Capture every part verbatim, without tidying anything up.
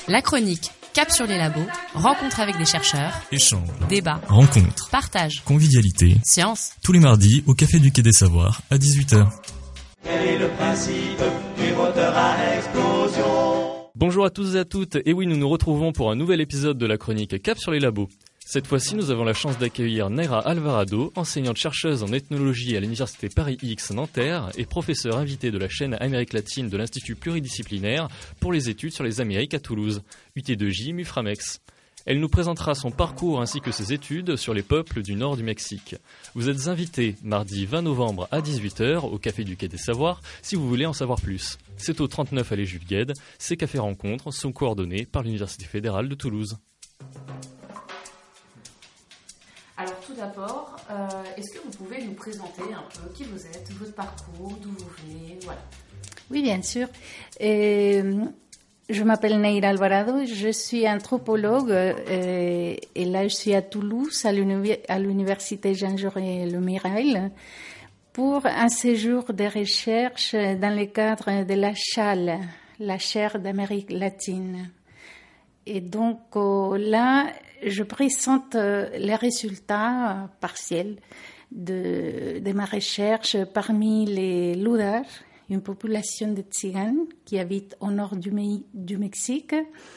La chronique Cap sur les labos, rencontre avec des chercheurs, échanges, débats, rencontres, partage, convivialité, science. Tous les mardis au Café du Quai des Savoirs à dix-huit heures. Quel est le principe du moteur à explosion ? Bonjour à tous et à toutes, et oui, nous nous retrouvons pour un nouvel épisode de la chronique Cap sur les labos. Cette fois-ci, nous avons la chance d'accueillir Naira Alvarado, enseignante-chercheuse en ethnologie à l'Université Paris-X Nanterre et professeure invitée de la chaîne Amérique latine de l'Institut pluridisciplinaire pour les études sur les Amériques à Toulouse, U T deux J Muframex. Elle nous présentera son parcours ainsi que ses études sur les peuples du nord du Mexique. Vous êtes invités mardi vingt novembre à dix-huit heures au Café du Quai des Savoirs si vous voulez en savoir plus. C'est au trente-neuf allée Jules Guesde. Ces cafés rencontres sont coordonnés par l'Université fédérale de Toulouse. Alors tout d'abord, euh, est-ce que vous pouvez nous présenter un peu qui vous êtes, votre parcours, d'où vous venez, voilà. Oui, bien sûr. Euh, je m'appelle Naira Alvarado, je suis anthropologue euh, et là je suis à Toulouse, à, l'univers, à l'université Jean-Jaurès Le Mirel, pour un séjour de recherche dans le cadre de la C H A L, la chaire d'Amérique latine. Et donc euh, là, je présente euh, les résultats euh, partiels de, de ma recherche parmi les Ludar, une population de Tziganes qui habite au nord du, du Mexique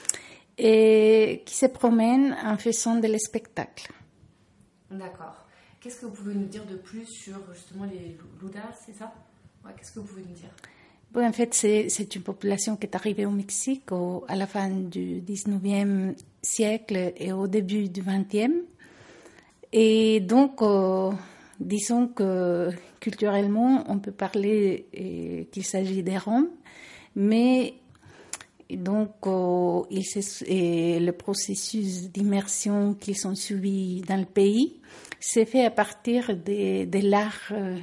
et qui se promènent en faisant des spectacles. D'accord. Qu'est-ce que vous pouvez nous dire de plus sur justement les Ludar, c'est ça ? Ouais, qu'est-ce que vous pouvez nous dire ? Bon, en fait, c'est, c'est une population qui est arrivée au Mexique au, à la fin du dix-neuvième siècle et au début du vingtième. Et donc, euh, disons que culturellement, on peut parler euh, qu'il s'agit des Roms, mais donc euh, il et le processus d'immersion qu'ils ont subi dans le pays s'est fait à partir de, de l'art euh,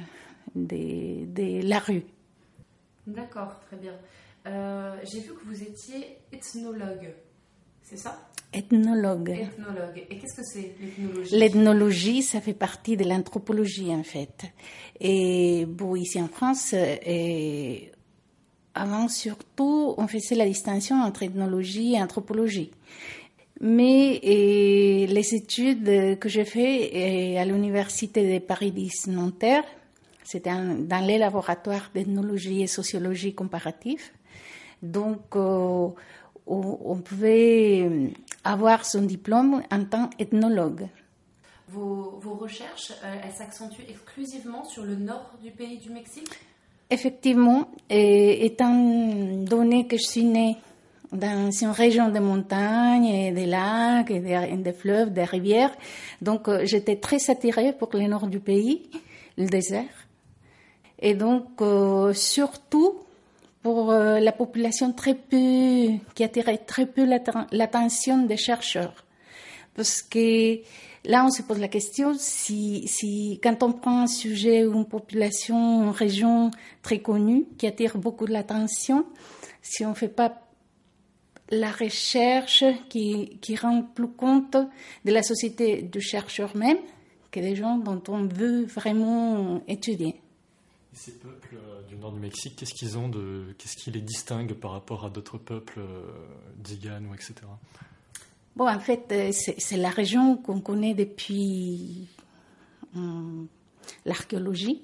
de, de la rue. D'accord, très bien. Euh, j'ai vu que vous étiez ethnologue, c'est ça ? Ethnologue. Ethnologue. Et qu'est-ce que c'est l'ethnologie ? L'ethnologie, ça fait partie de l'anthropologie en fait. Et bon, ici en France, et avant surtout, on faisait la distinction entre ethnologie et anthropologie. Mais et, les études que j'ai faites et, à l'université de Paris-X Nanterre, c'était un, dans les laboratoires d'ethnologie et sociologie comparative. Donc, euh, on, on pouvait avoir son diplôme en tant qu'ethnologue. Vos, vos recherches, euh, elles s'accentuent exclusivement sur le nord du pays du Mexique ? Effectivement, et, étant donné que je suis née dans une région de montagnes, et des lacs, et des, des fleuves, des rivières, donc euh, j'étais très attirée pour le nord du pays, le désert. Et donc, euh, surtout pour euh, la population très peu, qui attirait très peu l'atten- l'attention des chercheurs. Parce que là, on se pose la question, si, si quand on prend un sujet ou une population, une région très connue, qui attire beaucoup de l'attention, si on ne fait pas la recherche qui, qui rend plus compte de la société du chercheur même, que des gens dont on veut vraiment étudier. Et ces peuples euh, du nord du Mexique, qu'est-ce qu'ils ont de, qu'est-ce qui les distingue par rapport à d'autres peuples, euh, Tziganes ou et cetera. Bon, en fait, c'est, c'est la région qu'on connaît depuis hum, l'archéologie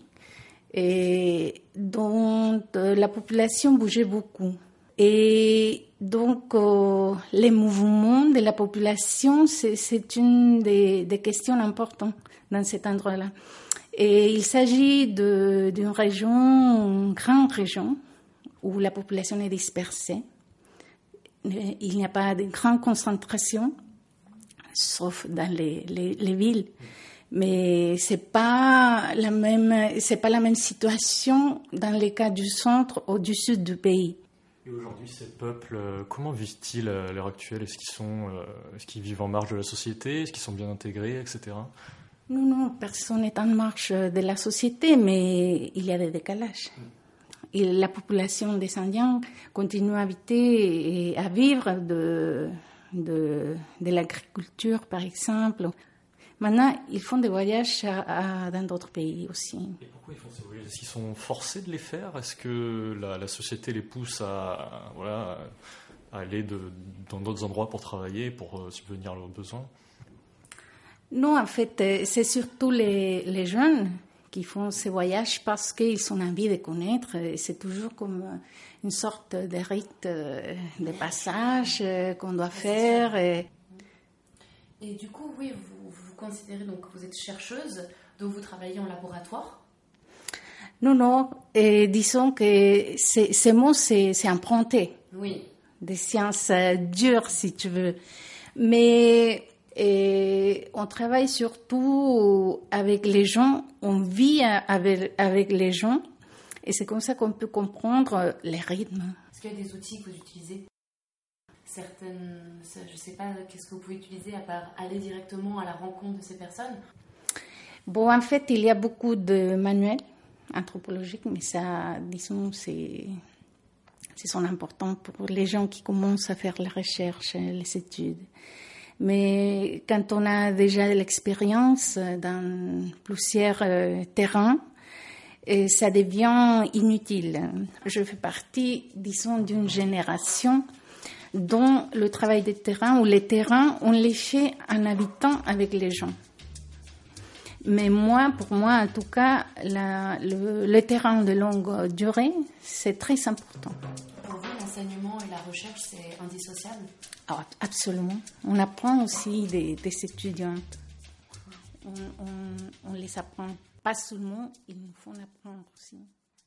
et dont euh, la population bougeait beaucoup. Et donc, euh, les mouvements de la population, c'est, c'est une des, des questions importantes dans cet endroit-là. Et il s'agit de, d'une région, une grande région, où la population est dispersée. Il n'y a pas de grande concentration, sauf dans les, les, les villes. Mais c'est pas la même, c'est pas la même situation dans les cas du centre ou du sud du pays. Et aujourd'hui, ces peuples, comment vivent-ils à l'heure actuelle ? Est-ce qu'ils sont, est-ce qu'ils vivent en marge de la société ? Est-ce qu'ils sont bien intégrés, et cetera. Non, non, personne n'est en marche de la société, mais il y a des décalages. Et la population des Indiens continue à habiter et à vivre de, de, de l'agriculture, par exemple. Maintenant, ils font des voyages à, à, dans d'autres pays aussi. Et pourquoi ils font ces voyages ? Est-ce qu'ils sont forcés de les faire ? Est-ce que la, la société les pousse à, voilà, à aller de, dans d'autres endroits pour travailler, pour euh, subvenir à leurs besoins? Non, en fait, c'est surtout les, les jeunes qui font ces voyages parce qu'ils ont envie de connaître. Et c'est toujours comme une sorte de rite de passage qu'on doit faire. Et, et du coup, oui, vous, vous considérez donc que vous êtes chercheuse, donc vous travaillez en laboratoire? Non, non, et disons que c'est, ces mots, c'est, c'est emprunté. Oui. Des sciences dures, si tu veux. Mais et on travaille surtout avec les gens, on vit avec, avec les gens, et c'est comme ça qu'on peut comprendre les rythmes. Est-ce qu'il y a des outils que vous utilisez? Certaines, je ne sais pas, qu'est-ce que vous pouvez utiliser à part aller directement à la rencontre de ces personnes? Bon, en fait, il y a beaucoup de manuels anthropologiques, mais ça, disons, c'est, c'est son important pour les gens qui commencent à faire la recherche, les études. Mais quand on a déjà de l'expérience dans plusieurs euh, terrains, et ça devient inutile. Je fais partie, disons, d'une génération dont le travail de terrain ou les terrains, on les fait en habitant avec les gens. Mais moi, pour moi, en tout cas, la, le, le terrain de longue durée, c'est très important. Pour vous, l'enseignement et la recherche, c'est indissociable? Ah, absolument. On apprend aussi des, des étudiantes. On, on, on les apprend pas seulement, il nous faut en apprendre aussi.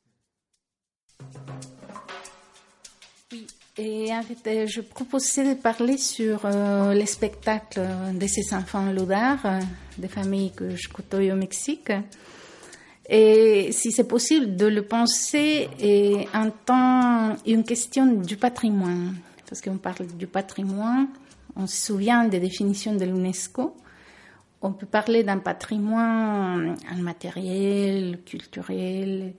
Oui, et en fait, je proposais de parler sur euh, les spectacles de ces enfants loudards, euh, des familles que je côtoie au Mexique. Et si c'est possible de le penser et en tant une question du patrimoine. Parce qu'on parle du patrimoine, on se souvient des définitions de l'UNESCO. On peut parler d'un patrimoine immatériel, culturel,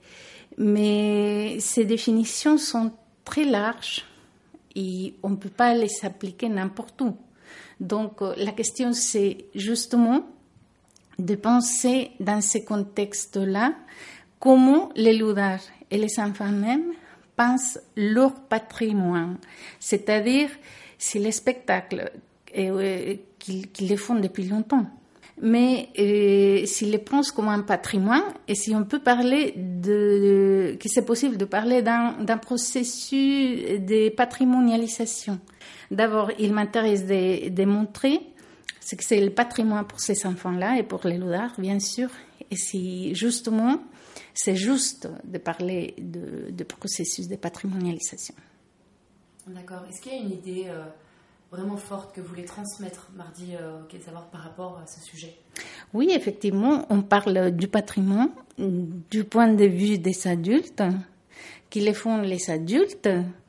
mais ces définitions sont très larges et on ne peut pas les appliquer n'importe où. Donc la question, c'est justement de penser dans ces contextes-là comment les loudards et les enfants même pensent leur patrimoine, c'est-à-dire si les spectacles euh, qu'ils, qu'ils les font depuis longtemps, mais euh, s'ils les pensent comme un patrimoine, et si on peut parler de, de que c'est possible de parler d'un, d'un processus de patrimonialisation. D'abord, il m'intéresse de, de montrer ce que c'est le patrimoine pour ces enfants-là et pour les loudards, bien sûr, et si justement c'est juste de parler de, de processus de patrimonialisation. D'accord. Est-ce qu'il y a une idée euh, vraiment forte que vous voulez transmettre, Mardi euh, Quai des Savoirs, par rapport à ce sujet? Oui, effectivement, on parle du patrimoine du point de vue des adultes, qui les font les adultes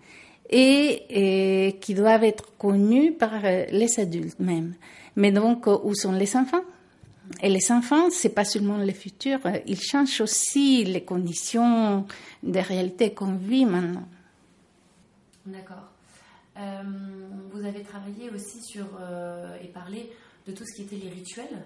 et, et qui doivent être connus par les adultes même. Mais donc, où sont les enfants? Et les enfants, c'est pas seulement le futur, ils changent aussi les conditions de réalité qu'on vit maintenant. D'accord. Euh, vous avez travaillé aussi sur euh, et parlé de tout ce qui était les rituels.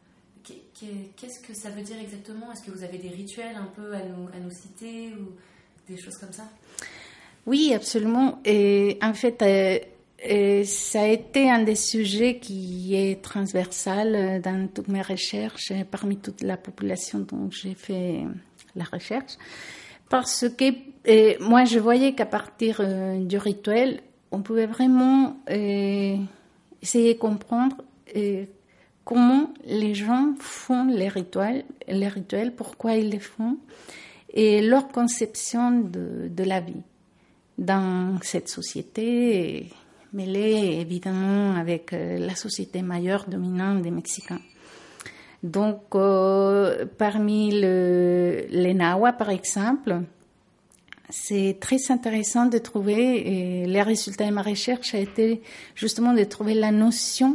Qu'est-ce que ça veut dire exactement? Est-ce que vous avez des rituels un peu à nous, à nous citer ou des choses comme ça? Oui, absolument. Et en fait, euh, Et ça a été un des sujets qui est transversal dans toutes mes recherches, parmi toute la population dont j'ai fait la recherche. Parce que euh, moi, je voyais qu'à partir euh, du rituel, on pouvait vraiment euh, essayer de comprendre euh, comment les gens font les rituels, les rituels, pourquoi ils les font, et leur conception de, de la vie dans cette société mêlée évidemment avec la société majeure dominante des Mexicains. Donc, euh, parmi le, les Nahua, par exemple, c'est très intéressant de trouver, et les résultats de ma recherche a été justement de trouver la notion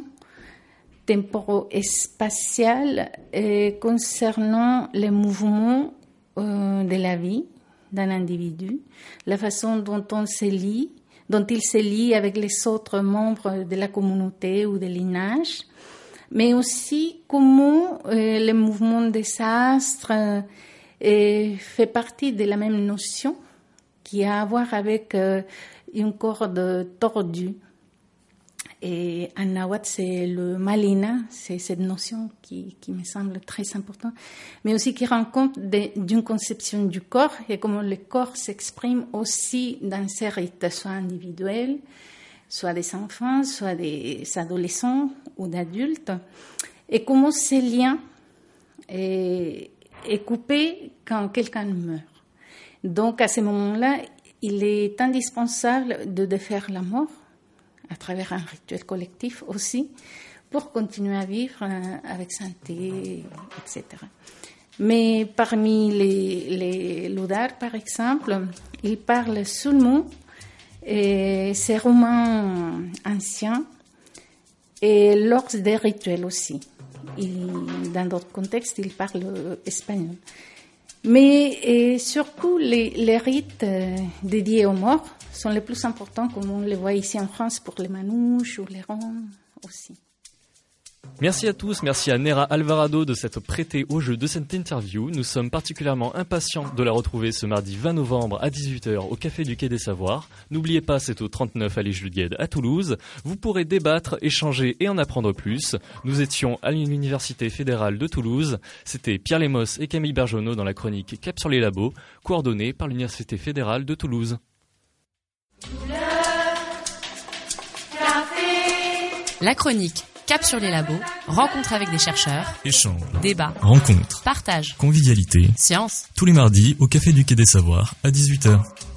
temporo-spatiale euh, concernant les mouvements euh, de la vie d'un individu, la façon dont on se lie, dont il se lie avec les autres membres de la communauté ou des lignage, mais aussi comment euh, le mouvement des astres euh, fait partie de la même notion qui a à voir avec euh, une corde tordue. Et en nahuatl, c'est le malina, c'est cette notion qui, qui me semble très importante, mais aussi qui rend compte de, d'une conception du corps et comment le corps s'exprime aussi dans ces rites, soit individuels, soit des enfants, soit des adolescents ou d'adultes, et comment ce lien est, est coupé quand quelqu'un meurt. Donc à ce moment-là, il est indispensable de défaire la mort, à travers un rituel collectif aussi, pour continuer à vivre avec santé, et cetera. Mais parmi les, les Ludar, par exemple, ils parlent seulement et ces romans anciens et lors des rituels aussi. Il, dans d'autres contextes, ils parlent espagnol. Mais et surtout, les, les rites euh, dédiés aux morts sont les plus importants, comme on les voit ici en France pour les manouches ou les ronds aussi. Merci à tous, merci à Nera Alvarado de s'être prêtée au jeu de cette interview. Nous sommes particulièrement impatients de la retrouver ce mardi vingt novembre à dix-huit heures au Café du Quai des Savoirs. N'oubliez pas, c'est au trente-neuf allée Jules Guesde à Toulouse. Vous pourrez débattre, échanger et en apprendre plus. Nous étions à l'Université fédérale de Toulouse. C'était Pierre Lemos et Camille Bergeonneau dans la chronique Cap sur les labos, coordonnée par l'Université fédérale de Toulouse. La chronique Cap sur les labos, rencontre avec des chercheurs, Échange, débat, rencontre, partage, convivialité, science. tous les mardis au Café du Quai des Savoirs à dix-huit heures.